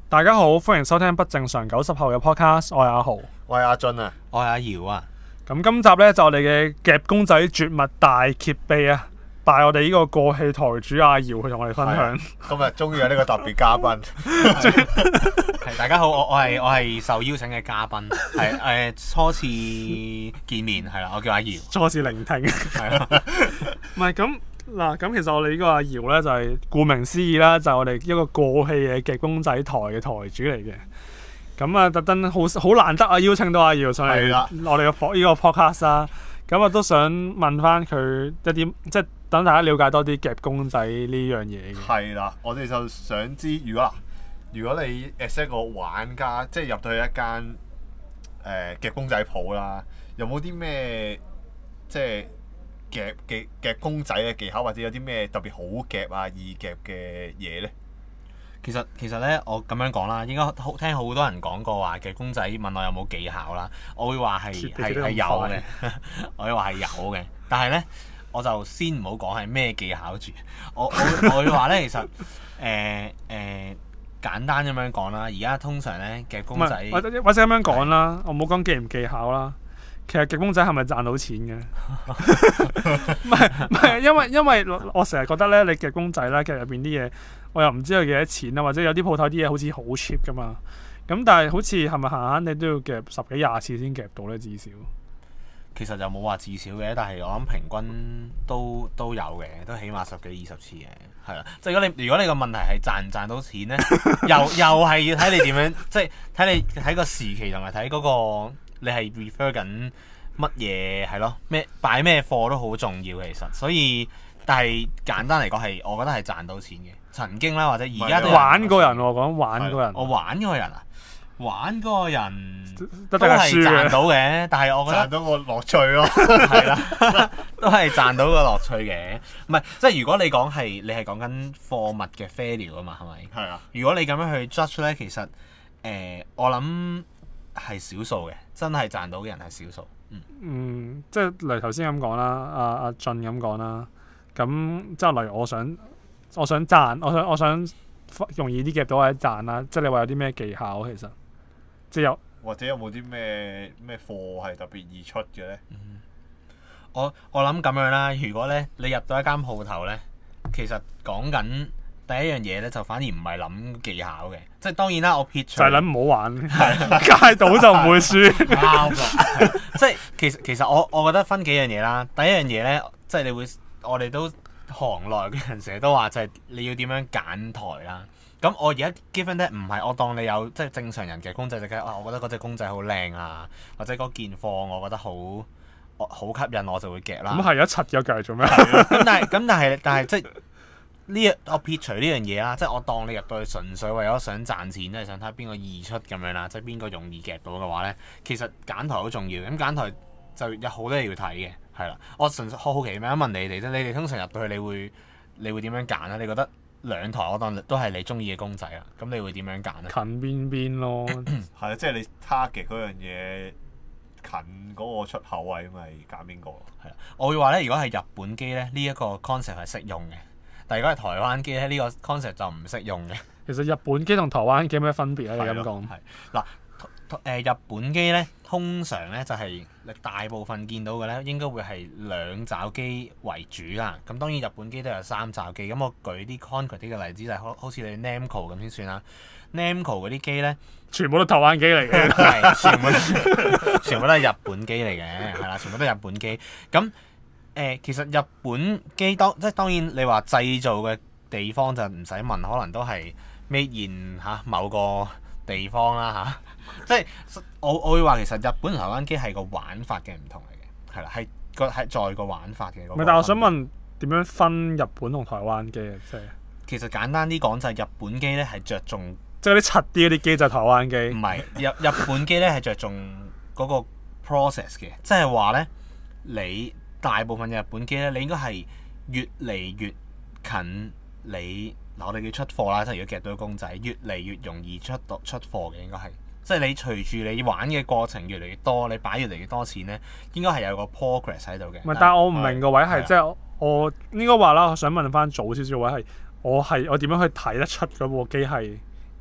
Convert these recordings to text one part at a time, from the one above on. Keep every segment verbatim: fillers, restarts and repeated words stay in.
大家好，歡迎收聽不正常九十後嘅 podcast，我係阿豪， 我係阿俊啊， 我係阿姚啊。 咁今集咧就我哋嘅夾公仔絕密大揭秘啊，帶我哋呢個過氣台主阿姚去同我哋分享。 今日終於有呢個特別嘉賓， 係大家好，我我係我係受邀請嘅嘉賓，係誒、呃、初次見面係啦，我叫阿姚， 初次聆聽係啦，唔係咁。嗱，咁其實我哋呢個阿姚咧就係、是、顧名思義啦，就係、是、我哋一個過氣嘅夾公仔台嘅台主嚟嘅。咁啊，特登好好難得啊，邀請到阿姚上嚟我哋嘅呢個 podcast 啦。咁啊，都想問翻佢一啲，即係等大家了解多啲夾公仔呢樣嘢嘅。 係啦，我哋就想知，如果嗱，如果你 as 一個玩家，即係入到去一間誒、呃、夾公仔鋪啦，有冇啲咩即係？夾嘅夾公仔嘅技巧，或者有啲咩特別好夾啊、易夾嘅嘢咧？ 其實其實咧，我咁樣講啦，應該好聽好多人講過話夾公仔，問我有冇技巧啦。我會話係係係有嘅，我會話係有嘅。但係咧，我就先唔好講係咩技巧住。我我我會話咧，其實誒誒、呃呃、簡單咁樣講啦。而家通常咧夾公仔， 或者或者咁樣講啦，我冇講技唔技巧啦。其實夾公仔係咪賺到錢嘅？唔係唔係，因為因為我成日覺得咧，你夾公仔咧，其實入邊啲嘢，我又唔知佢幾多錢啊，或者有啲鋪頭啲嘢好似好 cheap 噶嘛。咁但係好似係咪閒閒你都要夾十幾廿次先夾到咧？至少其實就冇話至少嘅，但係我諗平均都都有嘅，都起碼十幾二十次嘅，係啦。即係如果你如果你個問題係賺唔賺到錢咧，又又係要睇你點樣，即係睇你睇個時期同埋睇嗰個。你係 refer 緊乜嘢係咯？咩擺咩貨都好重要其實，所以但係簡單嚟講係，我覺得係賺到錢嘅。曾經啦，或者而家都玩過人喎，講玩過人。 我玩嗰個人啊，玩嗰個人都係賺到嘅，但係我覺得賺到個樂趣咯， 係啦，都係賺到個樂趣嘅。唔係即係如果你講係你係講緊貨物嘅 value 啊嘛，係咪？ 係啊。 如果你咁樣去 judge 咧，其實誒、呃、我諗。係少數嘅，真係賺到嘅人係少數。嗯， 嗯，即係例如頭先咁講啦，阿阿俊咁講啦，咁即係例如我想，我想賺，我想我想容易啲夾到或者賺啦，即係你話有啲咩技巧其實，即係有或者有冇啲咩咩貨係特別易出嘅咧？ 嗯，我我諗咁樣啦，如果咧你入到一間鋪頭咧，其實講緊。第一樣嘢咧就反而唔係諗技巧嘅，即係當然啦，我撇除就係諗唔好玩，街到就唔會輸。 啱啦，即係其實其實我我覺得分幾樣嘢啦。第一樣嘢咧，即係你會我哋都行內嘅人成日都話就係你要點樣揀台啦。咁我而家 given 咧唔係我當你有即係正常人嘅公仔就梗係，我覺得嗰隻公仔好靚啊，或者嗰件貨我覺得好好吸引我就會夾啦。咁係一柒咗計做咩？ 咁但係咁但係但係即係。呢樣我撇除呢樣嘢啦，即係我當你入到去純粹為咗想賺錢，即係想睇下邊個易出咁樣啦，即係邊個容易夾到嘅話咧，其實揀台好重要。咁揀台就有好多嘢要睇嘅，係啦。我純粹好好奇咁樣問你哋啫，你哋通常入到去你會你會點樣揀咧？你覺得兩台我當都係你中意嘅公仔啊，咁你會點樣揀咧？ 近邊邊咯， 係啊，即係你 target 嗰樣嘢近嗰個出口位，咪揀邊個？ 係啦，我會話咧，如果係日本機咧，呢一個 concept 係適用嘅。但如果係台灣機咧，呢、這個 concept 就唔適用嘅。 其實日本機同台灣機有咩分別咧？你咁講。 係嗱，誒日本機咧，通常咧就係、是、你大部分見到嘅咧，應該會係兩爪機為主啦。咁當然日本機都有三爪機。咁我舉啲 concrete 啲嘅例子就係、是、好好似你 Namco 咁先算啦。Namco 嗰啲機咧， 全部都台灣機嚟嘅， 係全部全部都係日本機嚟嘅，係啦，全部都係日本機。咁誒、呃，其實日本機當即係當然，你話製造嘅地方就唔使問，可能都係 made in 嚇某個地方啦嚇、啊。即係我我會話其實日本同台灣機係個玩法嘅唔同嚟嘅，係啦，係個係在個玩法嘅。唔係， 但係我想問點樣分日本同台灣機啊？即係其實簡單啲講就係日本機咧係着重， 即係啲柒啲嗰啲機就係台灣機。 唔係日日本機咧係着重嗰個 process 嘅，即係話咧你。大部分嘅日本機咧，你應該係越嚟越近你嗱，我哋叫出貨啦，即係如果夾到公仔，越嚟越容易出到出貨嘅，應該係，即係你隨住你玩嘅過程越嚟越多，你擺越嚟越多錢咧，應該係有個 progress 喺度嘅。唔係， 但係我唔明個位係即係我應該話啦，我想問翻早少少位係，我係我點樣去睇得出嗰部機係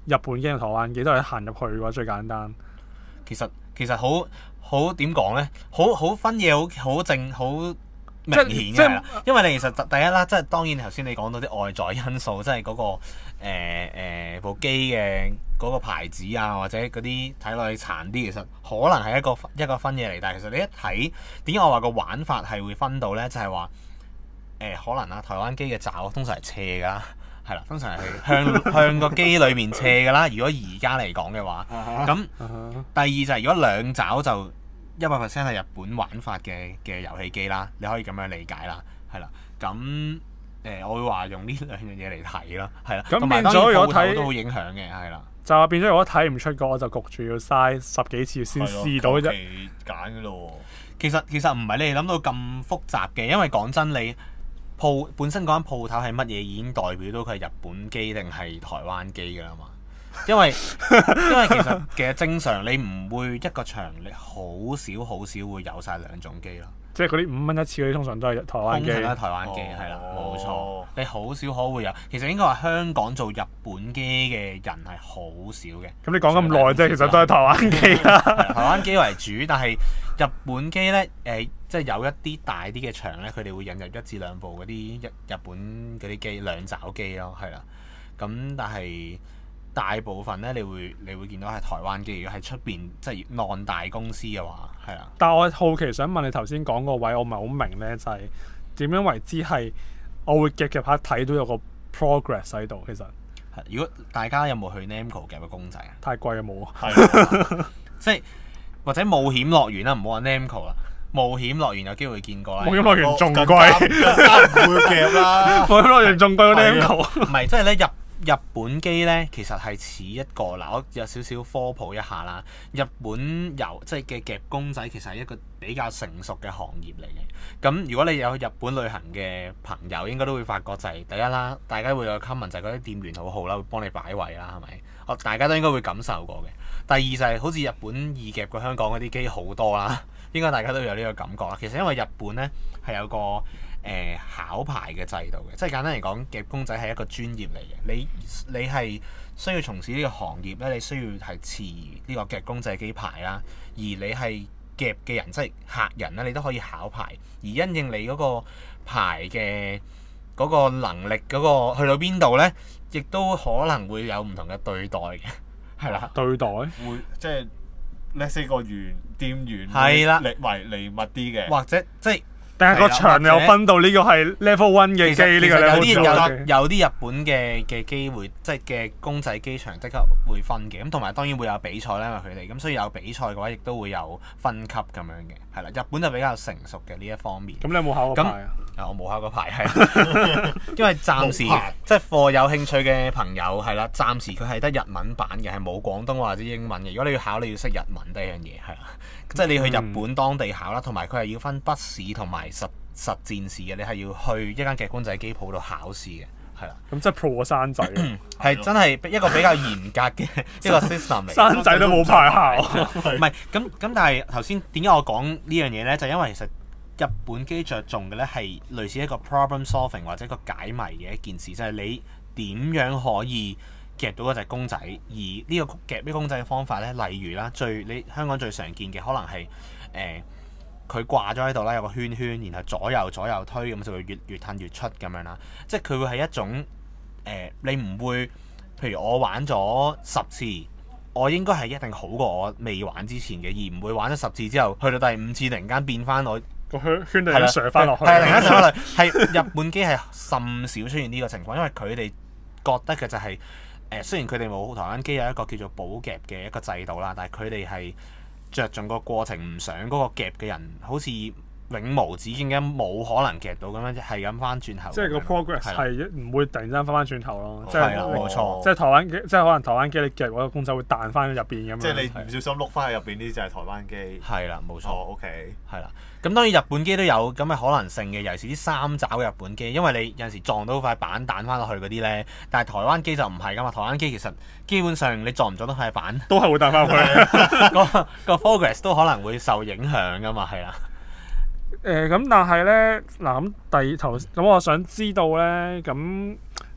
日本機同台灣機都係行入去嘅話最簡單。 其實其實好好點講咧，好好分嘢好好正好明顯嘅係啦，因為你其實第一啦，即係當然頭先你講到啲外在因素，即係嗰、嗰個誒、呃呃、部機嘅嗰個牌子啊，或者嗰啲睇落去殘啲，其實可能係一個一個分嘢嚟。但係其實你一睇點解我話個玩法係會分到咧，就係話誒可能啊，台灣機嘅爪通常係斜㗎。係啦，通常係向向個機裏面斜㗎啦。如果而家嚟講嘅話，咁、uh huh. 第二就係、是、如果兩爪就一百 percent 係日本玩法嘅嘅遊戲機啦，你可以咁樣理解啦。係啦，咁誒、呃、我會話用呢兩樣嘢嚟睇咯。係啦，咁變咗如果睇都會影響嘅，係啦。 就話變咗如果睇唔出個，我就焗住要嘥十幾次先試到啫。 揀㗎咯。 其實其實唔係你哋諗到咁複雜嘅，因為講真你。鋪本身嗰間鋪頭係乜嘢已經代表到佢係日本機定係台灣機㗎啦嘛，因為因為其實其實正常你唔會一個場你好少好少會有晒兩種機咯。即係嗰啲五蚊一次嗰啲通常都係台灣機。通常都係台灣機係啦，冇錯。你好少可會有，其實應該話香港做日本機嘅人係好少嘅。咁你講咁耐啫，其實都係台灣機啦。台灣機為主，但係日本機咧，誒、呃，即係有一啲大啲嘅場咧，佢哋會引入一至兩部嗰啲日日本嗰啲機兩爪機咯，係啦。咁但係大部分咧，你會你會見到係台灣機。如果喺出邊即係浪大公司嘅話，係啦。 但係我好奇想問你頭先講個位，我唔係好明咧，就係、是、點樣為之係我會夾夾下睇到有個 progress 喺度。其實係如果大家有冇去 Namco 夾個公仔啊？ 太貴啊，冇啊。 係即係或者冒險樂園啦，唔好話 Namco 啦。冒險樂園有機會見過啦。 冒險樂園仲貴， 唔會夾啦。 冒險樂園仲貴過 Namco。 唔係，即係咧日日本機咧，其實係似一個嗱，我有少少科普一下啦。日本遊即係嘅夾公仔，其實係一個比較成熟嘅行業嚟嘅。咁如果你有去日本旅行嘅朋友，應該都會發覺就係、是、第一啦，大家會有 comment 就係嗰啲店員好好啦，會幫你擺位啦，係咪？我大家都應該會感受過嘅。第二就係、是、好似日本易夾過香港嗰啲機好多啦，應該大家都有呢個感覺啦。其實因為日本咧係有個誒、呃、考牌嘅制度嘅，即係簡單嚟講，夾公仔係一個專業嚟嘅。你你係需要從事呢個行業咧，你需要係持呢個夾公仔機牌啦。而你係夾嘅人，即係客人咧，你都可以考牌。而因應你嗰個牌嘅嗰個能力嗰、嗰個去到邊度咧，亦都可能會有唔同嘅對待嘅。係啦， 對待會即係 let's say 個園店員係啦， 離為離密啲嘅， 或者即係， 但係個場有分到呢個係 level one 嘅機，呢個 level two 有有啲日本嘅嘅機會，即係嘅公仔機場即刻會分嘅。咁同埋當然會有比賽啦，因為佢哋咁，所以有比賽嘅話，亦都會有分級咁樣嘅。係啦，日本就比較成熟嘅呢一方面。 咁你有冇考過牌啊？ 啊，我冇考過牌，係因為暫時即係課有興趣嘅朋友係啦，暫時佢係得日文版嘅，係冇廣東話或者英文嘅。如果你要考，你要識日文呢樣嘢係啦，即係你去日本當地考啦，同埋佢係要分筆試同埋實實戰試嘅，你係要去一間嘅公仔機鋪度考試嘅，係啦。 咁即係 pro 個山仔， 係真係一個比較嚴格嘅一個 system 嚟。 山仔都冇牌考， 唔係咁咁，但係頭先點解我講呢樣嘢咧？就因為其實日本機着重嘅咧係類似一個 problem solving 或者一個解謎嘅一件事，就係、是、你點樣可以夾到嗰隻公仔，而呢個夾呢公仔嘅方法咧，例如啦，最你香港最常見嘅可能係誒佢掛咗喺度啦，有個圈圈，然後左右左右推咁就會越越褪越出咁樣啦。即係佢會係一種誒、呃，你唔會譬如我玩咗十次，我應該係一定好過我未玩之前嘅，而唔會玩咗十次之後去到第五次突然間變翻我。個圈圈突然間上翻落去，係突然間上翻落去。係日本機係甚少出現呢個情況，因為佢哋覺得嘅就係、是、誒、呃，雖然佢哋冇台灣機有一個叫做補夾嘅一個制度啦，但係佢哋係着重個過程，唔想嗰個夾嘅人好似永無止境嘅冇可能夾到咁樣，係咁翻轉頭。即係個 progress 係唔會突然間翻翻轉頭咯。即係冇錯。即係台灣機，即係可能台灣機你夾嗰個公仔會彈翻入邊咁樣。即係你唔小心碌翻去入邊呢，就係台灣機。係啦，冇錯。哦 ，OK。係啦。咁當然日本機都有咁嘅可能性嘅，尤其是啲三爪嘅日本機，因為你有陣時撞到塊板彈翻落去嗰啲咧，但係台灣機就唔係噶嘛。台灣機其實基本上你撞唔撞到塊板都係會彈翻去，個個 progress 都可能會受影響噶嘛，係啦。誒咁、呃，但係咧嗱咁第二頭咁，我想知道咧咁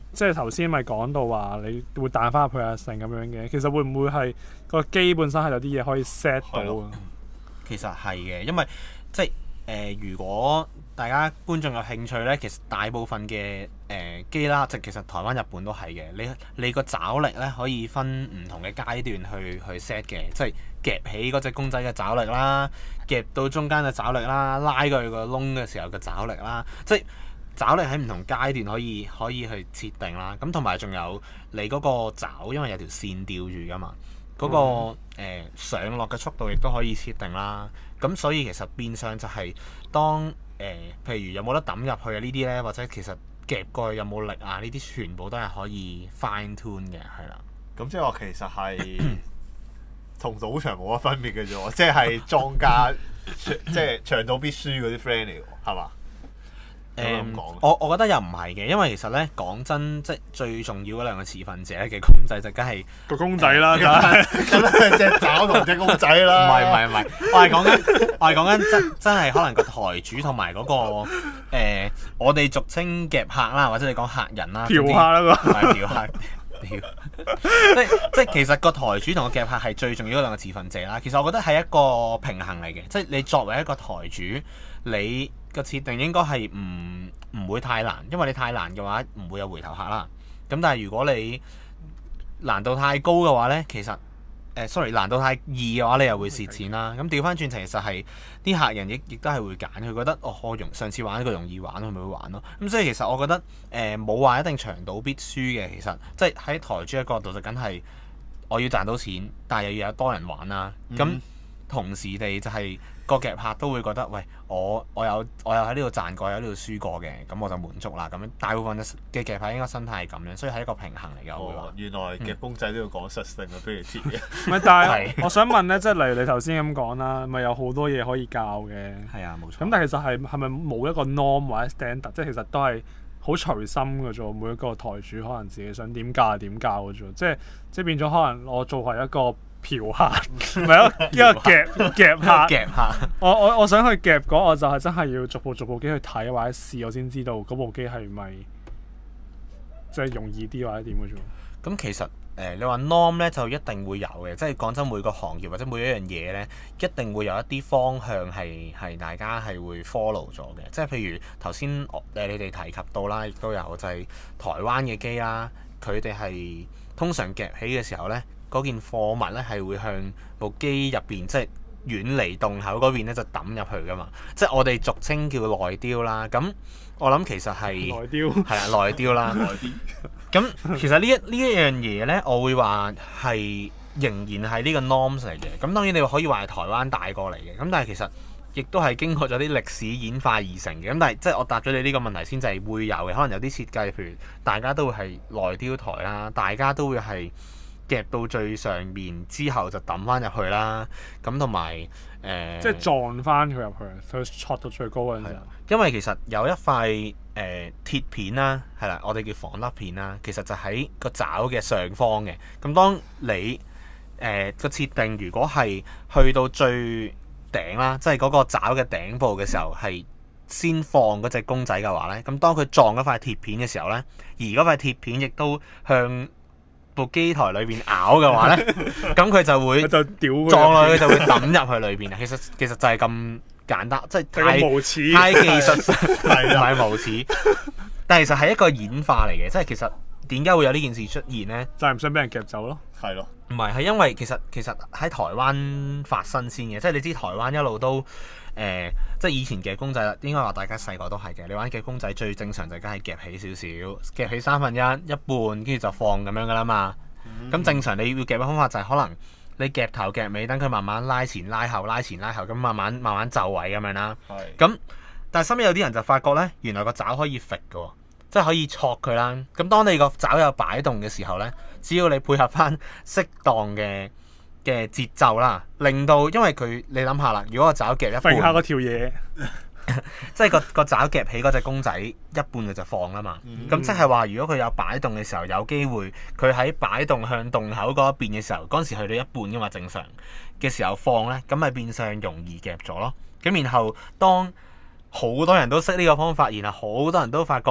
即係頭先咪講到話你會彈翻入去啊成咁樣嘅，其實會唔會係個機本身係有啲嘢可以 set 到啊？ 其實係嘅，因為即係誒、呃，如果大家觀眾有興趣咧，其實大部分嘅誒、呃、機啦，即係其實台灣、日本都係嘅。你你個爪力咧可以分唔同嘅階段去去 set 嘅，即係夾起嗰隻公仔嘅爪力啦，夾到中間嘅爪力啦，拉過去個窿嘅時候嘅爪力啦，即係爪力喺唔同階段可以可以去設定啦。咁同埋仲有你嗰個爪，因為有條線吊住噶嘛。嗰、那個、呃、上落嘅速度亦都可以設定啦，咁所以其實變相就係當誒、呃、譬如有冇得抌入去啊呢啲咧，或者其實夾過去有冇力啊呢啲，全部都係可以 fine tune 嘅，係啦。 咁即係話其實係同賭場冇乜分別嘅啫喎，即係莊家即係長賭必輸嗰啲 friend 嚟喎，係嘛？ 誒、嗯，我我覺得又唔係嘅，因為其實咧講真，即係最重要嗰兩個持份者嘅公仔就梗係個公仔啦，梗係隻爪同隻公仔啦。 唔係唔係唔係，我係講緊我係講緊真真係可能個台主同埋嗰個誒、呃，我哋俗稱夾客啦，或者你講客人啦， 嫖客啦個， 唔係嫖客，即即其實個台主同個夾客係最重要嗰兩個持份者啦。其實我覺得係一個平衡嚟嘅，即係你作為一個台主，你個設定應該係唔唔會太難，因為你太難嘅話唔會有回頭客啦。咁但係如果你難度太高嘅話呢，其實誒、呃、sorry 難度太易嘅話，你又會蝕錢啦。咁調翻轉，其實係啲客人亦亦都係會揀，佢覺得哦，我容上次玩呢個容易玩，佢咪會玩咯。咁所以其實我覺得誒冇話一定長賭必輸嘅，其實即係喺台主嘅角度就梗係我要賺到錢，但係又要有多人玩啦。咁、嗯、同時地就係、是。個夾客都會覺得，喂，我我有我有喺呢度賺過，有喺呢度輸過嘅，咁我就滿足啦。咁樣大部分嘅夾客應該心態係咁樣，所以係一個平衡嚟嘅。 哦，原來夾公仔都要講實性啊，不如貼嘅。 唔係，但係我想問咧，即係例如你頭先咁講啦，咪有好多嘢可以教嘅。 係啊，冇錯。 咁但係其實係係咪冇一個 norm 或者 standard？即係其實都係好隨心嘅啫。每一個台主可能自己想點教就點教嘅啫。即係即係變咗，可能我做係一個嫖客，唔係一個夾夾客。 夾客。 我我我想去夾嗰，我就係真係要逐部逐部機去睇或者試，我先知道嗰部機係咪即係容易啲或者點嘅啫。 咁其實誒、呃，你話 norm 咧就一定會有嘅，即係講真，每個行業或者每一樣嘢咧，一定會有一啲方向係係大家係會 follow 咗嘅。即係譬如頭先誒你哋提及到啦，亦都有就係台灣嘅機啦，佢哋係通常夾起嘅時候咧，嗰件貨物咧係會向部機入邊，即係遠離洞口嗰邊咧就抌入去噶嘛。即係我哋俗稱叫內丟啦。咁我諗其實係內丟係啊，內丟啦。咁其實呢一呢一樣嘢咧，我會話係仍然係呢個 norms 嚟嘅。咁當然你可以話係台灣帶過嚟嘅。咁但係其實亦都係經過咗啲歷史演化而成嘅。咁但係即係我答咗你呢個問題先，就係會有嘅。可能有啲設計，譬如大家都會係內丟台啦，大家都會係夾到最上面之後就抌翻入去啦。咁同埋誒， 即係撞翻佢入去，佢戳到最高嗰陣時。 因為其實有一塊誒、呃、鐵片啦，係啦，我哋叫防甩片啦，其實就喺個爪嘅上方嘅。咁當你誒個、呃、設定如果係去到最頂啦，即係嗰個爪嘅頂部嘅時候，係先放嗰隻公仔嘅話咧，咁當佢撞嗰塊鐵片嘅時候咧，而嗰塊鐵片亦都向部機台裏邊咬嘅話咧，咁佢就會就屌撞落去，就會抌入去裏邊啊。其實其實就係咁簡單，即係太無恥太技術，唔係無恥。但係其實係一個演化嚟嘅，即係其實點解會有呢件事出現咧？ 就係唔想俾人夾走咯。 係咯， 唔係係因為其實其實喺台灣發生先嘅，即係你知台灣一路都誒、呃，即係以前夾公仔啦，應該話大家細個都係嘅。你玩夾公仔最正常就梗係夾起少少，夾起三分一、一半，跟住就放咁樣噶啦嘛。咁、嗯、正常你要夾嘅方法就係可能你夾頭夾尾，等佢慢慢拉前拉後，拉前拉後，咁慢慢慢慢就位咁樣啦。咁是但係身邊有啲人就發覺咧，原來個爪可以揈嘅，即係可以戳佢啦。咁當你個爪有擺動嘅時候咧，只要你配合翻適當嘅嘅節奏啦，令到因為佢你諗下啦，如果個爪夾一半， 揈下嗰條嘢， 即係個個爪夾起嗰隻公仔一半佢就放啦嘛。咁、嗯、即係話，如果佢有擺動嘅時候，有機會佢喺擺動向洞口嗰一邊嘅時候，嗰陣時去到一半噶嘛，正常嘅時候放咧，咁咪變相容易夾咗咯。咁然後當好多人都識呢個方法，然後好多人都發覺誒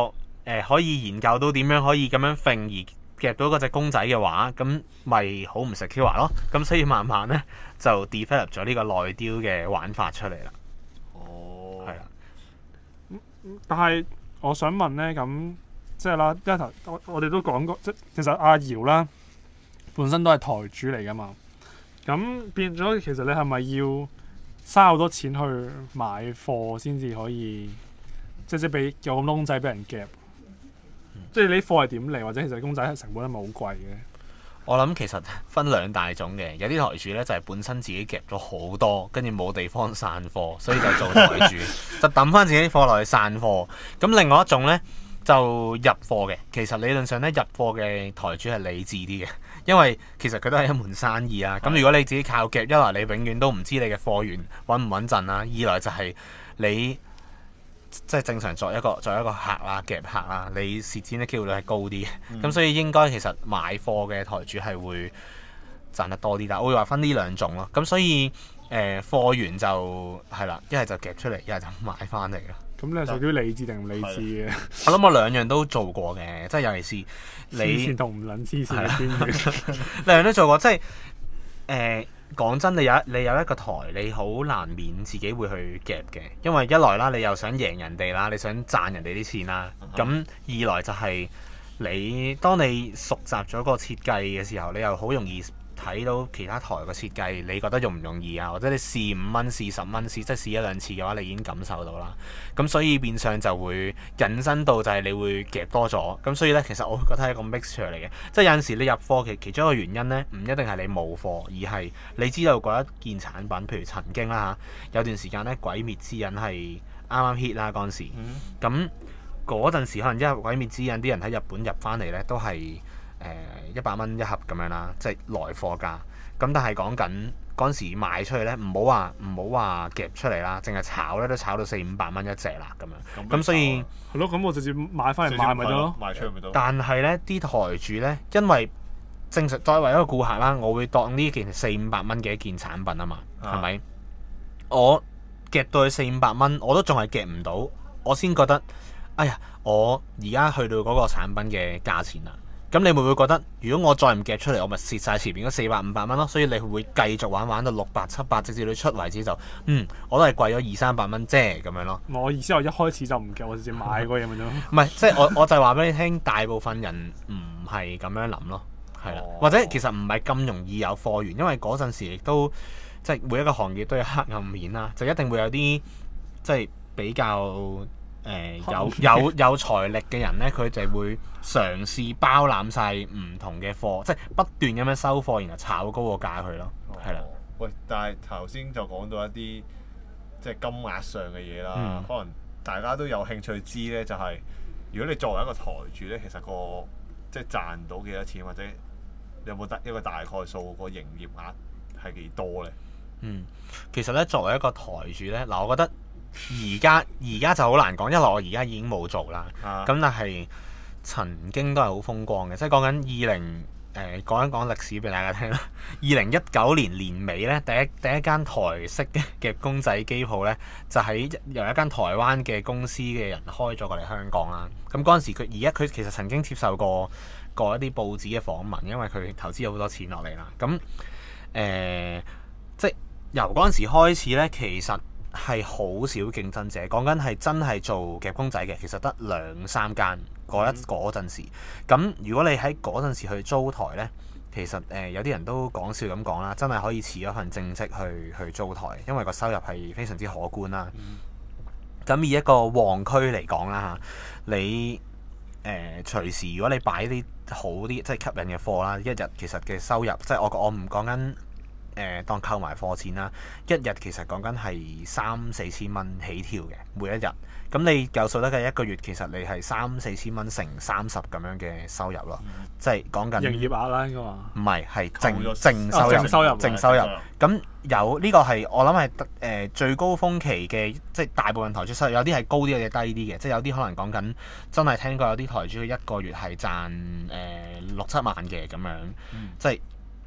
呃、可以研究到點樣可以咁樣揈而夾到嗰隻公仔嘅話，咁咪好唔 secure 咯。咁所以慢慢咧就 develop 咗呢個內雕嘅玩法出嚟啦。 哦， 係啦。 但係我想問咧，咁即係啦，一頭我我哋都講過，即其實阿姚啦本身都係台主嚟噶嘛。咁變咗，其實你係咪要嘥好多錢去買貨先至可以，即係即係俾有咁多公仔俾人夾？嗯、即係你啲貨係點嚟，或者其實公仔成本係咪好貴嘅？ 我諗其實分兩大種嘅，有啲台主咧就係、是、本身自己夾咗好多，跟住冇地方散貨，所以就做台主，就抌翻自己啲貨落去散貨。咁另外一種咧就入貨嘅，其實理論上咧入貨嘅台主係理智啲嘅。因為其實佢都係一門生意啊，咁如果你自己靠夾，一來你永遠都唔知你嘅貨源穩唔穩陣啦，二來就係你即係正常作一個作一個客啦，夾客啦，你蝕錢嘅機會率係高啲嘅，咁、嗯、所以應該其實買貨嘅台主係會賺得多啲，但係我會話分呢兩種咯，咁所以誒貨源就係啦，一係就夾出嚟，一係就買翻嚟咯。咁你係屬於理智定唔理智嘅？ 我諗我兩樣都做過嘅，即係尤其是你黐線同唔撚黐線嘅邊緣， 兩樣都做過。即係誒講真，你有你有一個台，你好難免自己會去夾嘅，因為一來啦，你又想贏人哋啦，你想賺人哋啲錢啦。咁、uh huh. 二來就係你當你熟習咗個設計嘅時候，你又好容易睇到其他台個設計，你覺得容唔容易啊？或者你試五蚊、試十蚊、試即係試一兩次嘅話，你已經感受到啦。咁所以變相就會引申到就係你會夾多咗。咁所以咧，其實我覺得係一個 mixture 嚟嘅。即係有陣時你入貨其其中一個原因咧，唔一定係你冇貨，而係你知道嗰一件產品，譬如曾經啦嚇，有段時間咧《鬼滅之刃》係啱啱 hit 啦嗰陣時。咁嗰陣時可能因為《鬼滅之刃》啲人喺日本入翻嚟咧，都係。誒一百蚊一盒咁樣啦，即係來貨價。咁但係講緊嗰陣時賣出去咧，唔好話唔好話夾出嚟啦，淨係炒咧都炒到四五百蚊一隻啦咁樣。咁所以係咯，咁我直接買翻嚟賣咪得咯， 賣出去咪得。 但係咧啲台主咧，因為正常作為一個顧客啦，我會當呢件四五百蚊嘅一件產品啊嘛，係咪、啊？我夾到去四五百蚊，我都仲係夾唔到，我先覺得，哎呀，我而家去到嗰個產品嘅價錢啦。咁你會唔會覺得，如果我再唔夾出嚟，我咪蝕晒前面嗰四百五百蚊咯？所以你會繼續玩玩到六百七百，直至你出為止就，嗯，我都係貴咗二三百蚊啫咁樣咯。 我意思我一開始就唔夾，我直接買嗰嘢咪得咯。 唔係，即係我我就係話俾你聽，大部分人唔係咁樣諗咯，係啦，或者其實唔係咁容易有貨源，因為嗰陣時亦都即係每一個行業都有黑暗面啦，就一定會有啲即係比較。誒、呃、有有有財力嘅人咧，佢就會嘗試包攬晒唔同嘅貨，即係不斷咁樣收貨，然後炒高個價去咯，係啦、哦。的喂，但係頭先就講到一啲即係金額上嘅嘢啦，嗯、可能大家都有興趣知咧，就係、是、如果你作為一個台主咧，其實個即係賺到幾多錢，或者你有冇得一個大概數個營業額係幾多咧？ 嗯，其實咧作為一個台主咧，嗱，我覺得。而家而家就好難講，因為我而家已經冇做啦。咁、啊、但係曾經都係好風光嘅，即係講緊二零誒講一講歷史俾大家聽啦。二零一九年年尾咧，第一第一間台式嘅公仔機鋪咧，就喺由一間台灣嘅公司嘅人開咗過嚟香港啦。咁嗰陣時佢而家佢其實曾經接受過過一啲報紙嘅訪問，因為佢投資咗好多錢落嚟啦。咁誒、呃、即係由嗰陣時開始咧，其實係好少競爭者，講緊係真係做夾公仔嘅，其實得兩三間嗰一嗰陣時。咁如果你喺嗰陣時去租台呢，其實誒、呃、有啲人都講笑咁講啦，真係可以辭咗份正職去去租台，因為個收入係非常之可觀啦。咁、嗯、以一個旺區嚟講啦嚇，你誒、呃、隨時如果你擺啲好啲即係吸引嘅貨啦，一日其實嘅收入即係我我唔講緊。誒、呃、當購埋貨錢啦，一日其實講緊係三四千蚊起跳嘅每一日。咁你夠數得嘅一個月，其實你係三四千蚊乘三十咁樣嘅收入咯，嗯、即係講緊營業額啦，應該話唔係係淨淨收入，淨收入，淨收入。咁有呢個係我諗係誒最高峰期嘅，即係大部分台主收入，有啲係高啲，有啲低啲嘅，即係有啲可能講緊真係聽過有啲台主一個月係賺誒六七萬嘅咁樣，嗯、即係。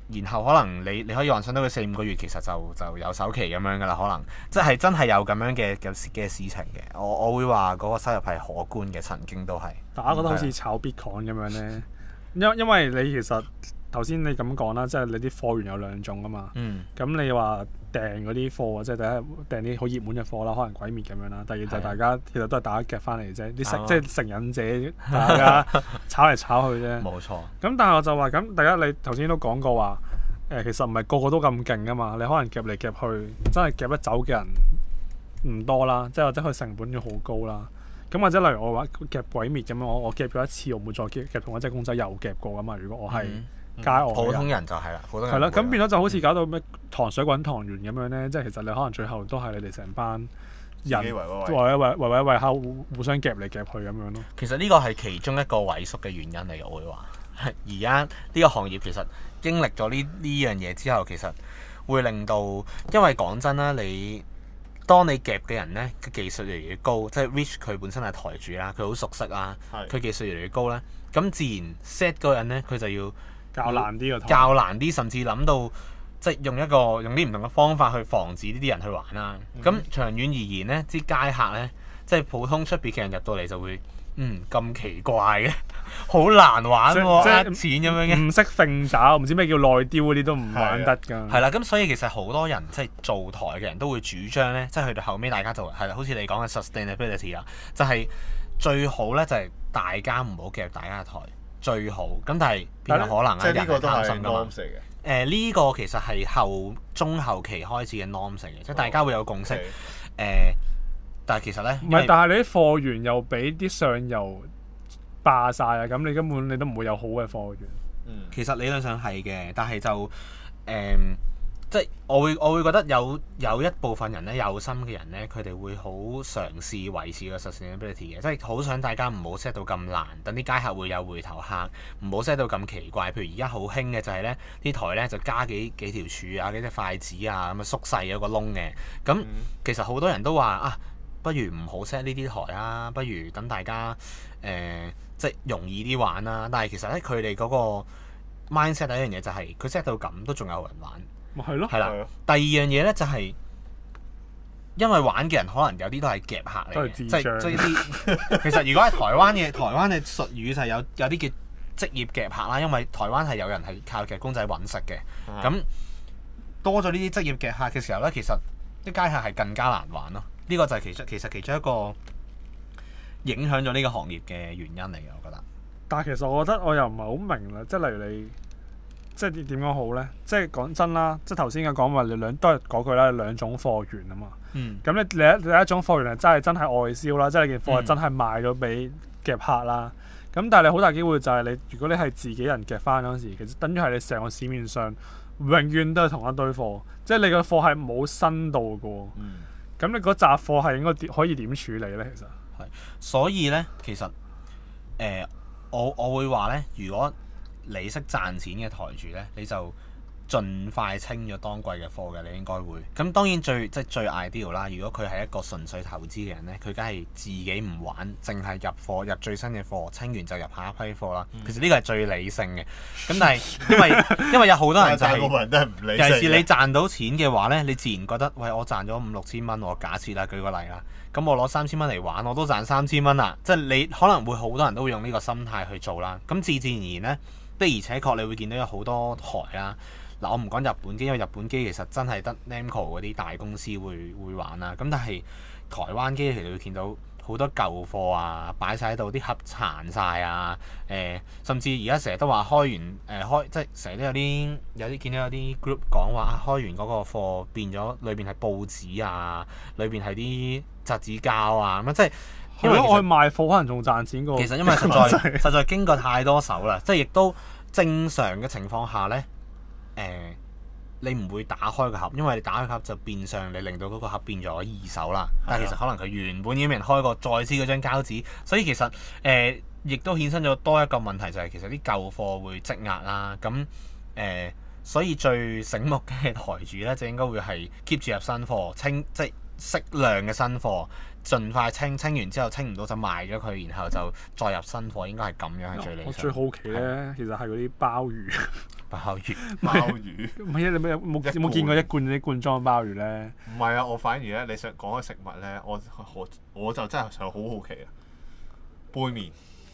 然後可能你你可以幻想到佢四五個月其實就就有首期咁樣噶啦，可能即係真係有咁樣嘅嘅嘅事情嘅。我我會話嗰個收入係可觀嘅，曾經都係。 大家覺得好似炒 Bitcoin 咁樣咧，因因為你其實頭先你咁講啦，即係你啲貨源有兩種啊嘛。嗯。咁你話訂嗰啲貨，即係第一訂啲好熱門嘅貨啦，可能鬼滅咁樣啦。第二就係大家其實都係大家夾翻嚟啫，啲成即係成癮者，大家炒嚟炒去啫。冇錯。咁但係我就話咁，第一你頭先都講過話，誒其實唔係個個都咁勁噶嘛，你可能夾嚟夾去，真係夾得走嘅人唔多啦，即係或者佢成本要好高啦。咁或者例如我話夾鬼滅咁樣，我我夾咗一次，我唔會再夾夾同一隻公仔又夾過噶嘛。如果我係街外、嗯嗯、普通人就係啦，普通人係啦，咁變咗就好似搞到咩糖水滾糖圓咁樣咧，即係其實你可能最後都係你哋成班人為為為為為下互互相夾嚟夾去咁樣咯。其實呢個係其中一個萎縮嘅原因嚟嘅，我會話。而家呢個行業其實經歷咗呢呢樣嘢之後，其實會令到，因為講真啦，你當你夾嘅人咧嘅技術越嚟越高，即係 Rich 佢本身係台主啦，佢好熟悉啦，佢技術越嚟越高咧，咁自然 set 嗰個人咧佢就要較難啲個台，較難啲，甚至諗到即係用一個用啲唔同嘅方法去防止呢啲人去玩啦。咁、嗯、長遠而言咧，啲街客咧，即係普通出邊嘅人入到嚟就會，嗯咁奇怪嘅，好難玩喎，呃錢咁樣嘅，唔識揈爪，唔知咩叫內丟嗰啲都唔玩得㗎。係啦，咁所以其實好多人即係做台嘅人都會主張咧，即係去到後尾大家就係啦，好似你講嘅 sustainability 啦，就係最好咧就係大家唔好夾大家嘅台。最好咁，但係邊有可能啊？即係呢個都係 norm 嚟嘅。誒呢個其實係後中後期開始嘅 norm 嚟嘅，即係大家會有共識。誒、呃，但係其實咧，唔係，但係你啲貨源又俾啲上游霸晒啊！咁你根本你都唔會有好嘅貨源。嗯，其實理論上係嘅，但係就誒。呃即係我會我會覺得有有一部分人咧，有心嘅人咧，佢哋會好嘗試維持個 sustainability 嘅，即係好想大家唔好 set 到咁難，等啲街客會有回頭客，唔好 set 到咁奇怪。譬如而家好興嘅就係咧，啲台咧就加幾幾條柱啊，幾隻筷子啊，咁啊縮細咗個窿嘅。咁、嗯、其實好多人都話啊，不如唔好 set 呢啲台啊，不如等大家誒、呃、即係容易啲玩啦。但係其實咧，佢哋嗰個 mindset 第一樣嘢就係佢 set 到咁都仲有人玩。咪係咯，係啦。第二樣嘢咧就係、是，因為玩嘅人可能有啲都係夾客嚟嘅，即係即係啲。其實如果係台灣嘅台灣嘅術語就係有有啲叫職業夾客啦，因為台灣係有人係靠夾公仔揾食嘅。咁、嗯、多咗呢啲職業夾客嘅時候咧，其實啲街客係更加難玩咯。呢、這個就係其中其實其中一個影響咗呢個行業嘅原因嚟嘅，我覺得。但係其實我覺得我又唔係好明啦，即係例如你。即係點講好咧？即係講真啦，即係頭先嘅講話，你兩都係嗰句啦，兩種貨源啊嘛。嗯。咁你第一第一種貨源係真係真係外銷啦，即係你件貨係真係賣咗俾夾客啦。咁、嗯、但係你好大機會就係你，如果你係自己人夾翻嗰陣時，其實等於係你成個市面上永遠都係同一堆貨，即係你個貨係冇新到嘅喎。嗯。咁你嗰紮貨係應該點可以點處理咧？其實係。所以咧，其實誒、呃，我我會話咧，如果你識賺錢嘅台主咧，你就盡快清咗當季嘅貨嘅，你應該會。咁當然最即係最 ideal 啦。如果佢係一個純粹投資嘅人咧，佢梗係自己唔玩，淨係入貨入最新嘅貨，清完就入下一批貨啦。嗯、其實呢個係最理性嘅。咁但係因為因為有好多人就係、是，尤其是你賺到錢嘅話咧，你自然覺得喂，我賺咗五六千蚊，我假設啦，舉個例啦，咁我攞三千蚊嚟玩，我都賺三千蚊啦。即係你可能會好多人都會用呢個心態去做啦。咁自自然然咧。的而且確，你會見到有好多台啦。嗱，我唔講日本機，因為日本機其實真係得 Namco 嗰啲大公司會會玩啦。咁但係台灣機其實會見到好多舊貨啊，擺晒喺度，啲盒殘晒啊。誒、呃，甚至而家成日都話開完誒、呃、開，即係成日都有啲有啲見到有啲 group 講話開完嗰個貨變咗，裏邊係報紙啊，裏邊係啲雜紙膠啊咁啊，即係。因為我去賣貨可能仲賺錢過。其實因為實在實在經過太多手啦，即係亦都正常嘅情況下咧，誒、呃，你唔會打開個盒，因為你打開個盒就變相你令到嗰個盒變咗二手啦。但係其實可能佢原本已經俾人開過，再黐嗰張膠紙，所以其實誒，亦、呃、都衍生咗多一個問題，就係、是、其實啲舊貨會積壓啦。咁誒、呃，所以最醒目嘅台主咧，就應該會係 keep 住入新貨，清即係適量嘅新貨，盡快清，清完之後清唔到就賣咗佢，然後就再入新貨，應該係咁樣係最理想。 我最好奇咧， 係其實係嗰啲鮑魚。 鮑魚， 鮑魚。 唔係啊！你冇有冇有冇見過一罐啲罐裝鮑魚咧？ 唔係啊！我反而咧，你想講嘅食物咧，我我我就真係想好好奇啊！杯麵。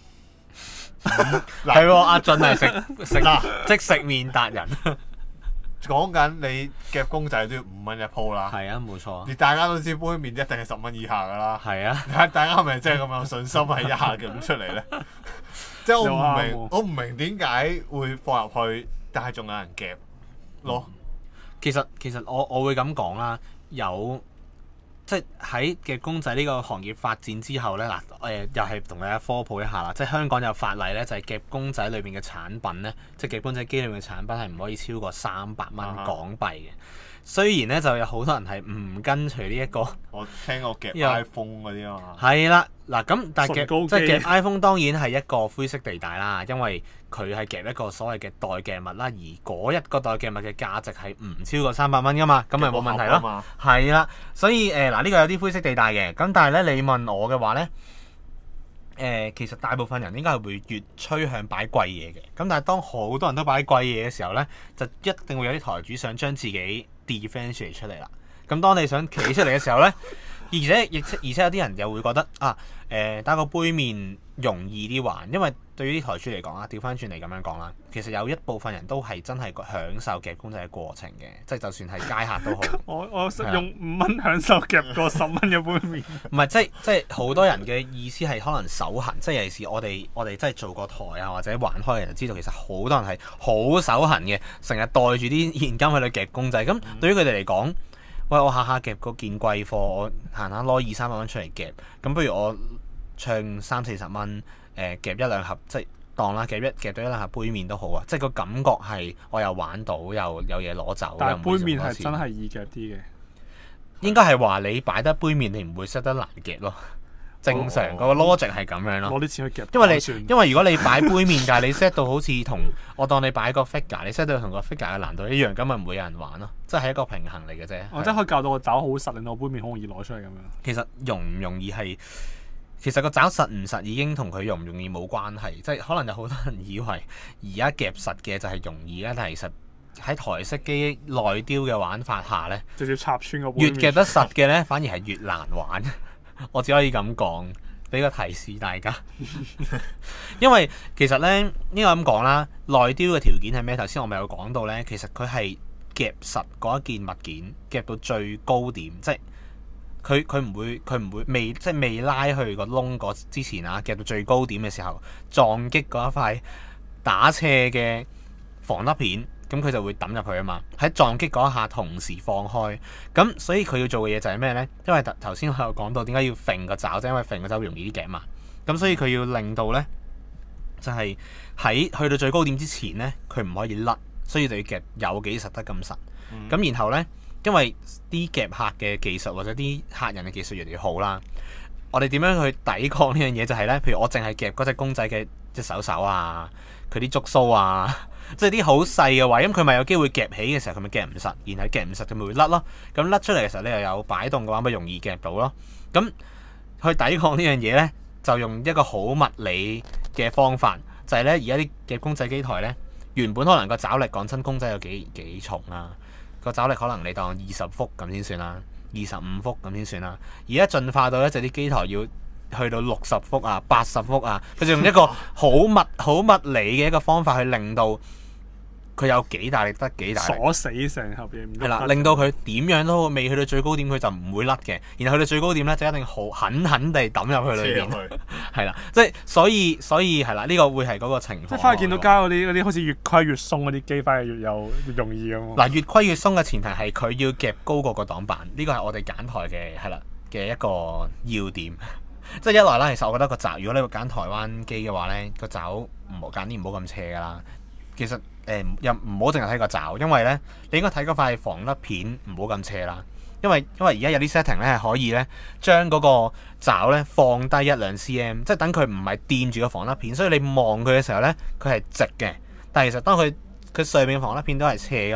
係喎，阿俊係食食即食麵達人。 講緊你夾公仔都要五蚊一鋪啦。係啊，冇錯。 而大家都知杯麵一定係十蚊以下㗎啦。係啊。 大家係咪真係咁有信心係一下夾出嚟咧？即係我唔明，我唔明點解會放入去，但係仲有人夾咯。 嗯、其實其實我我會咁講啦，有。即係喺夾公仔呢個行業發展之後咧，嗱、呃、誒又係同大家科普一下啦。即係香港有法例咧，就係、是、夾公仔裏邊嘅產品咧，即係夾公仔機裏面嘅產品係唔可以超過三百蚊港幣嘅。雖然咧就有好多人係唔跟隨呢一個， 我聽過夾 iPhone 嗰啲啊嘛。 係啦，嗱咁但係夾即係夾 iPhone 當然係一個灰色地帶啦，因為佢係夾一個所謂嘅代夾物啦，而嗰一個代夾物嘅價值係唔超過三百蚊噶嘛，咁咪冇問題咯。係啦，所以誒嗱呢個有啲灰色地帶嘅，咁但係咧你問我嘅話咧，誒、呃、其實大部分人應該係會越趨向擺貴嘢嘅，咁但係當好多人都擺貴嘢嘅時候咧，就一定會有啲台主想將自己 differentiate 出嚟啦。咁當你想企出嚟嘅時候咧，而且亦而且有啲人又會覺得啊誒、呃、打個杯麵容易啲玩，因為對於啲台主嚟講啊，調翻轉嚟咁樣講啦，其實有一部分人都係真係享受夾公仔嘅過程嘅，即係就算係街客都好。 我我用五蚊享受夾過十蚊嘅杯麵。 唔係，即係即係好多人嘅意思係可能手痕，即係尤其是我哋我哋真係做過台啊或者玩開嘅人就知道，其實好多人係好手痕嘅，成日袋住啲現金喺度夾公仔。咁對於佢哋嚟講，喂，我下下夾嗰件貴貨，我閒下攞二三百蚊出嚟夾，咁不如我唱三四十蚊，誒、呃、夾一兩盒，即係當啦，夾一夾到一兩盒杯麵都好啊！即係個感覺係我又玩到，又有嘢攞走。 但係杯麵係真係易夾啲嘅。 應該係話你擺得杯麵，你唔會識得難夾咯。正常個 logic 係咁樣咯。 攞啲錢去夾， 因為你因為如果你擺杯麵，但係你 set 到好似同我當你擺個 figure，你 set 到同個 figure 嘅難度一樣，咁咪唔會有人玩咯。即係一個平衡嚟嘅啫。 我真係可以教到個爪好實，令到杯麵好容易攞出嚟咁樣。 其實容唔容易係，其實個爪實唔實已經同佢容唔容易冇關係。即係可能有好多人以為而家夾實嘅就係容易啦，但係其實喺台式機內雕嘅玩法下咧， 直接插穿個杯麵。 越夾得實嘅咧，反而係越難玩。我只可以咁講，俾個提示大家。因為其實咧，應該咁講啦，內雕嘅條件係咩？頭先我咪有講到咧，其實佢係夾實嗰一件物件，夾到最高點，即係佢佢唔會佢唔會未即係未拉去個窿嗰之前啊，夾到最高點嘅時候，撞擊嗰一塊打斜嘅防甩片。咁佢就會抌入去啊嘛，喺撞擊嗰一下同時放開，咁所以佢要做嘅嘢就係咩呢？因為頭先我有講到點解要揈個爪，即係因為揈個爪容易啲夾嘛，咁所以佢要令到呢，就係、是、喺去到最高點之前呢，佢唔可以甩，所以就要夾有幾實得咁實。咁、嗯、然後呢，因為啲夾客嘅技術或者啲客人嘅技術越嚟越好啦，我哋點樣去抵抗呢樣嘢？就係呢，譬如我淨係夾嗰隻公仔嘅隻手手啊，佢啲觸鬚啊。即係啲好細嘅位，咁佢咪有機會夾起嘅時候，佢咪夾唔實，然後夾唔實佢咪會甩咯。咁甩出嚟嘅時候，你又有擺動嘅話，咪容易夾到咯。咁去抵抗呢樣嘢呢，就用一個好物理嘅方法，就係呢。而家啲夾公仔機台呢，原本可能個爪力講真，公仔有幾幾重啊？個爪力可能你當二十伏咁先算啦，二十五伏咁先算啦。而家進化到一隻啲機台要去到六十伏啊、八十伏啊，佢就用一個好物好物理嘅一個方法去令到佢有幾大力得幾大力，鎖死成盒嘢。 係啦，令到佢點樣都未去到最高點，佢就唔會甩嘅。然後去到最高點咧，就一定好狠狠地抌入去裏邊。係啦，即係所以所以係啦，呢、呢個會係嗰個情況。 即係翻去見到街嗰啲嗰啲好似越規越鬆嗰啲機，反而越有越容易咁。 嗱，越規越鬆嘅前提係佢要夾高過個擋板，呢個係我哋揀台嘅係啦嘅一個要點。即係一來啦，其實我覺得個爪，如果你會揀台灣機嘅話咧，個爪唔好揀啲唔好咁斜噶啦。其實誒又唔好淨係睇個爪，因為咧你應該睇嗰塊防甩片唔好咁斜啦。因為因為而家有啲 setting 咧係可以咧將嗰個爪咧放低一兩 cm， 即係等佢唔係掂住個防甩片，所以你望佢嘅時候咧佢係直嘅。但係其實當佢佢上面嘅防甩片都係斜噶嘛，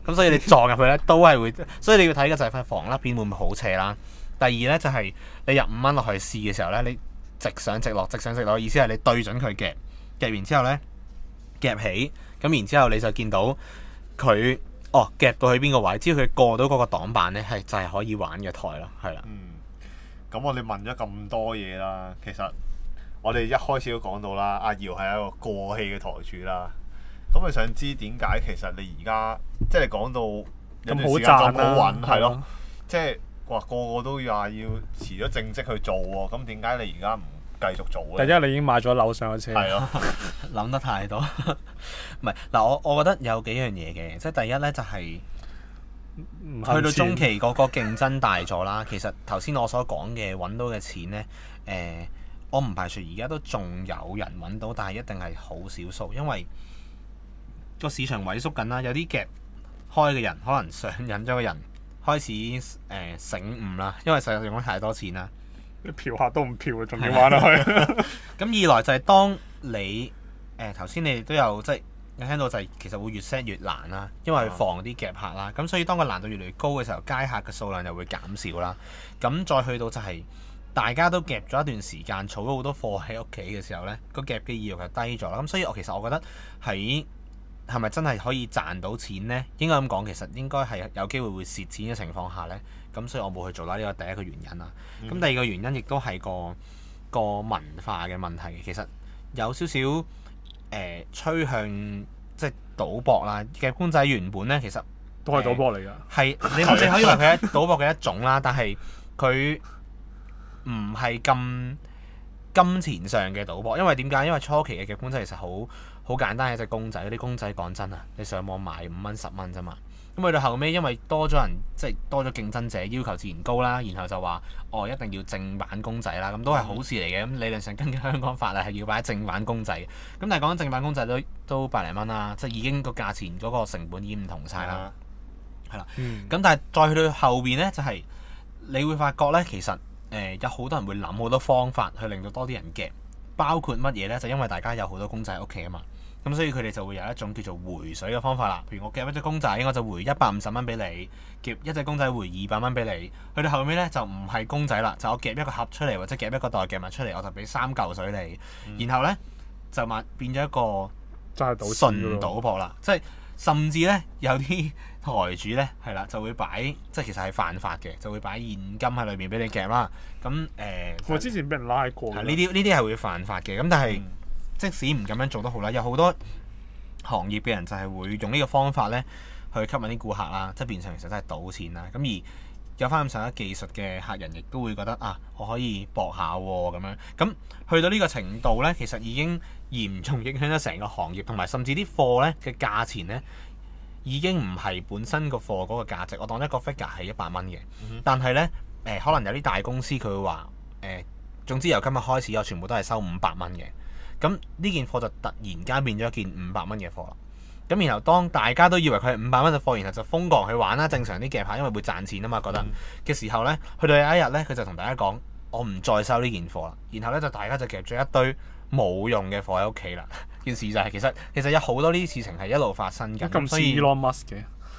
咁所以你撞入去咧都係會，所以你要睇嘅就係塊防甩片會唔會好斜啦。第二咧就係、是、你入五蚊落去試嘅時候咧，你直上直落，直上直落，意思係你對準佢夾，夾完之後咧夾起，咁然之後你就見到佢哦夾到去邊個位，只要佢過到嗰個擋板咧，係就係、是、可以玩嘅台咯，係啦。 嗯，咁我哋問咗咁多嘢啦，其實我哋一開始都講到啦，阿姚係一個過氣嘅台主啦。咁我想知點解其實你而家即係講到有段時間咁好揾，係咯，即係話個個都話要辭咗正職去做喎，咁點解你而家唔繼續做咧？ 第一，你已經買咗樓上嘅車。係咯， 諗得太多。唔係嗱，我我覺得有幾樣嘢嘅，即係第一咧就係、是、去到中期嗰個競爭大咗啦。其實頭先我所講嘅揾到嘅錢咧，誒、呃，我唔排除而家都仲有人揾到，但係一定係好少數，因為個市場萎縮緊啦。有啲夾開嘅人可能上癮咗嘅人開始誒、呃、醒悟啦，因為實在用咗太多錢啦。 嫖客都唔嫖，仲要玩落去。 咁二來就係當你誒頭先你哋都有即係有聽到就係其實會越 set 越難啦，因為防啲夾客啦。咁所以當個難度越嚟越高嘅時候，街客嘅數量就會減少啦。咁再去到就係大家都夾咗一段時間，儲咗好多貨喺屋企嘅時候咧，個夾嘅意欲就低咗啦。咁所以我其實我覺得喺係咪真係可以賺到錢呢？應該咁講，其實應該係有機會會蝕錢嘅情況下呢。咁所以我冇去做啦。呢個第一個原因啦。咁、嗯、第二個原因亦都係個個文化嘅問題。其實有少少誒趨向即係賭博啦。夾公仔原本呢，其實都係賭博嚟㗎。 係、呃、你你可以話佢係賭博嘅一種啦，但係佢唔係咁金錢上嘅賭博。因為點解？因為初期嘅夾公仔其實好好簡單，係隻公仔。啲公仔講真啊，你上網買五蚊十蚊啫嘛。咁去到後尾，因為多咗人，即係多咗競爭者，要求自然高啦。然後就話哦，一定要正版公仔啦。咁都係好事嚟嘅。咁理論上根據香港法例係要擺正版公仔嘅。咁但係講緊正版公仔都都百零蚊啦，即係已經個價錢嗰個成本已經唔同晒啦。係啦。咁但係再去到後邊呢，就係、是、你會發覺呢，其實誒、呃、有好多人會諗好多方法去令到多啲人夾，包括乜嘢呢？就因為大家有好多公仔喺屋企啊嘛。咁所以佢哋就會有一種叫做回水嘅方法啦。譬如我夾一隻公仔，我就回一百五十蚊俾你；夾一隻公仔回二百蚊俾你。去到後尾咧就唔係公仔啦，就我夾一個盒出嚟，或者夾一個袋夾物出嚟，我就俾三嚿水你。嗯、然後咧就變變咗一個純賭博啦。即係甚至咧有啲台主咧係啦，就會擺即係其實係犯法嘅，就會擺現金喺裏面俾你夾啦。咁誒，呃、 我之前俾人拉過。 呢啲呢啲係會犯法嘅。咁但係，嗯即使唔咁樣做都好啦，有好多行業嘅人就係會用呢個方法咧去吸引啲顧客啦，即係變相其實真係賭錢啦。咁而有翻咁上下技術嘅客人，亦都會覺得啊，我可以搏下喎咁樣。咁去到呢個程度咧，其實已經嚴重影響咗成個行業，同埋甚至啲貨咧嘅價錢咧已經唔係本身個貨嗰個價值。我當一個 figure 係一百蚊嘅，嗯、哼但係咧誒可能有啲大公司佢會話誒、呃，總之由今日開始我全部都係收五百蚊嘅。咁呢件貨就突然間變咗一件五百蚊嘅貨啦。咁然後當大家都以為佢係五百蚊嘅貨，然後就瘋狂去玩啦。正常啲夾客因為會賺錢啊嘛，覺得嘅、嗯、時候呢，去到有一日呢，佢就同大家講：我唔再收呢件貨啦。然後呢，就大家就夾咗一堆冇用嘅貨喺屋企啦。件事就係、是、其實其實有好多呢啲事情係一路發生緊。 咁似 Elon Musk 嘅，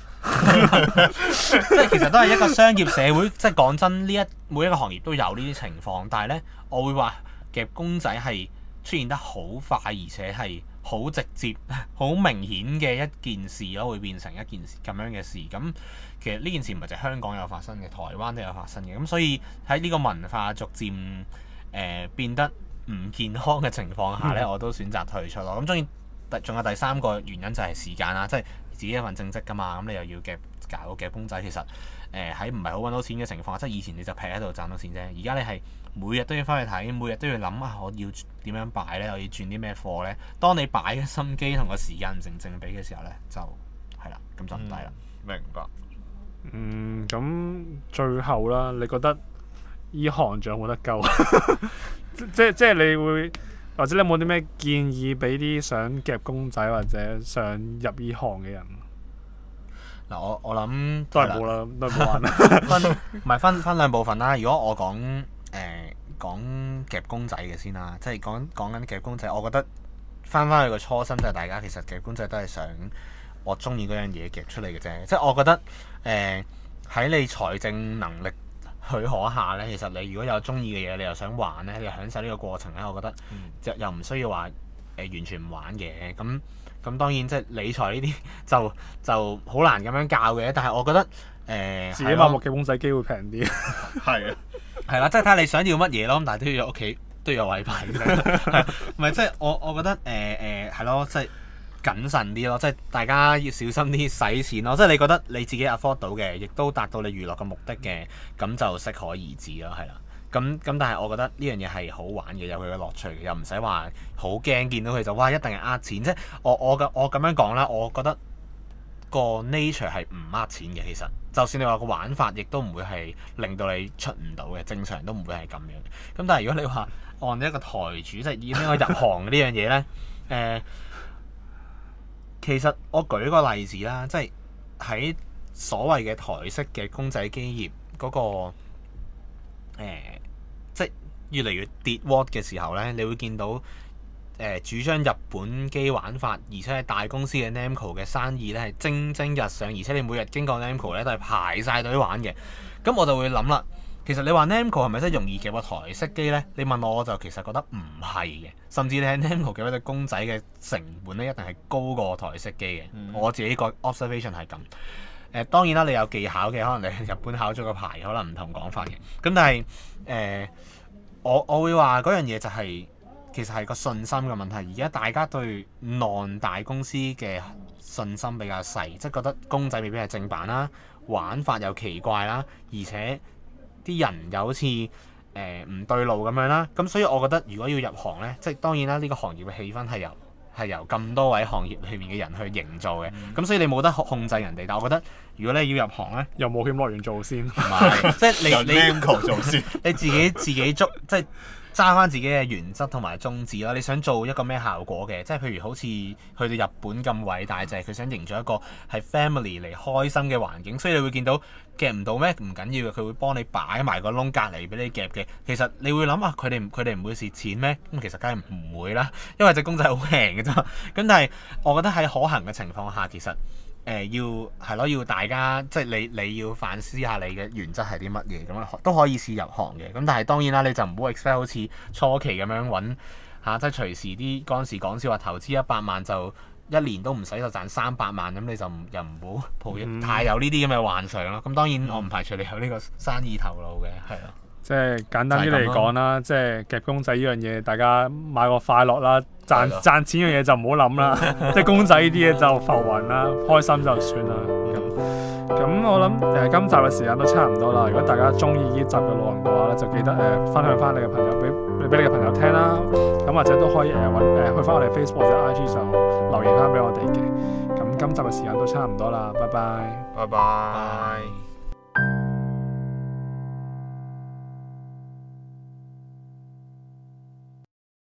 即係其實都係一個商業社會。即係講真，呢一每一個行業都有呢啲情況，但係呢，我會話夾公仔係出現得好快，而且係好直接、好明顯嘅一件事咯，會變成一件咁樣嘅事。咁其實呢件事唔係淨係香港有發生嘅，台灣都有發生嘅。咁所以喺呢個文化逐漸誒、呃、變得唔健康嘅情況下咧，嗯、我都選擇退出咯。咁當然，仲有第三個原因就係時間啦，即係自己一份正職㗎嘛，咁你又要夾搞夾公仔，其實誒喺唔係好揾到錢嘅情況，即係以前你就劈喺度賺到錢啫，而家你係每日都要翻去睇，每日都要諗啊，我要點樣擺咧？我要轉啲咩貨咧？當你擺嘅心機同個時間唔成正比嘅時候咧，就係啦，咁就唔抵啦。 明白。 嗯，咁最後啦，你覺得依行仲有冇得救？即即即係你會，或者你有冇啲咩建議俾啲想夾公仔或者想入依行嘅人？ 嗱，我我諗都係冇啦，都係冇玩啦。 分唔係分分兩部分啦。如果我講誒、呃、講夾公仔嘅先啦，即係講講緊夾公仔，我覺得翻翻去個初心就係大家其實夾公仔都係想我中意嗰樣嘢夾出嚟嘅啫。即係我覺得誒喺、呃、你財政能力許可下咧，其實你如果有中意嘅嘢，你又想玩咧，你又享受呢個過程咧，我覺得就又唔需要話誒、呃、完全唔玩嘅。咁咁當然即係理財呢啲就就好難咁樣教嘅。但係我覺得誒、呃、 自己買部夾公仔機會平啲。 係啊， 係啦，即係睇下你想要乜嘢咯。咁但係都要有屋企都要有位擺嘅。係唔係即係我我覺得誒誒係咯，即係。謹慎啲咯，即係大家要小心啲使錢咯。即係你覺得你自己 afford 到嘅，亦都達到你娛樂嘅目的嘅，咁就適可而止咯，係啦。咁咁但係我覺得呢樣嘢係好玩嘅，有佢嘅樂趣嘅，又唔使話好驚見到佢就哇一定係呃錢。即係我我嘅我咁樣講啦，我覺得個 nature 係唔呃錢嘅。其實就算你話個玩法，亦都唔會係令到你出唔到嘅，正常都唔會係咁樣。咁但係如果你話按一個台主，即係以呢個入行呢樣嘢咧，誒、呃。其實我舉個例子啦，即係喺所謂嘅台式嘅公仔機業嗰、嗰個、呃、即係越嚟越跌 watt 嘅時候咧，你會見到誒、呃、主張日本機玩法，而且係大公司嘅 Namco 嘅生意咧係蒸蒸日上，而且你每日經過 Namco 咧都係排晒隊玩嘅。咁我就會諗啦。其實你話 Namco 係咪真係容易夾個台式機呢？你問我我就其實覺得唔係嘅，甚至你喺 Namco 夾一隻公仔嘅成本咧，一定係高過台式機嘅。嗯、我自己個 observation 係咁。誒、呃、當然啦，你有技巧嘅，可能你喺日本考咗個牌，可能唔同講法嘅。咁但係誒、呃，我我會話嗰樣嘢就係、是、其實係個信心嘅問題。而家大家對 non 大公司嘅信心比較細，即係覺得公仔未必係正版啦，玩法又奇怪啦，而且啲人又好似誒唔對路咁樣啦，咁所以我覺得如果要入行呢，即係當然啦，呢、呢個行業嘅氣氛係由係由咁多位行業裏面嘅人去營造嘅，咁、嗯、所以你冇得控制人哋。但係我覺得如果你要入行呢， 由冒險樂園做先， 唔係即係你你 Namco 做先， 你自己自己捉即係。揸翻自己嘅原則同埋宗旨啦，你想做一個咩效果嘅？即係譬如好似去到日本咁偉大，就係佢想營造一個係 family 嚟開心嘅環境，所以你會見到夾唔到咩唔緊要嘅，佢會幫你擺埋個窿隔離俾你夾嘅。其實你會諗啊，佢哋佢哋唔會蝕錢咩？咁其實梗係唔會啦，因為隻公仔好平嘅啫。咁但係我覺得喺可行嘅情況下，其實。誒、呃、要係咯，要大家即係你你要反思下你嘅原則係啲乜嘢咁樣，都可以試入行嘅。咁但係當然啦，你就唔好 expect 好似初期咁樣揾嚇、啊，即係隨時啲嗰陣時講笑話投資一百萬就一年都唔使就賺三百萬，咁你就又唔好抱太有呢啲咁嘅幻想咯。咁當然我唔排除你有呢個生意頭腦嘅，係咯。 即係簡單啲嚟講啦，即係夾公仔呢樣嘢，大家買個快樂啦，賺的賺錢嘅嘢就唔好諗啦。即係公仔呢啲嘢就浮雲啦，開心就算啦。咁咁我諗誒、呃、今集嘅時間都差唔多啦。如果大家中意呢集嘅內容嘅話咧，就記得誒、呃、分享翻你嘅朋友俾俾你嘅朋友聽啦。咁或者都可以誒揾誒去翻我哋 Facebook 或者 I G 就留言翻俾我哋嘅。咁今集嘅時間都差唔多啦，拜拜， 拜拜。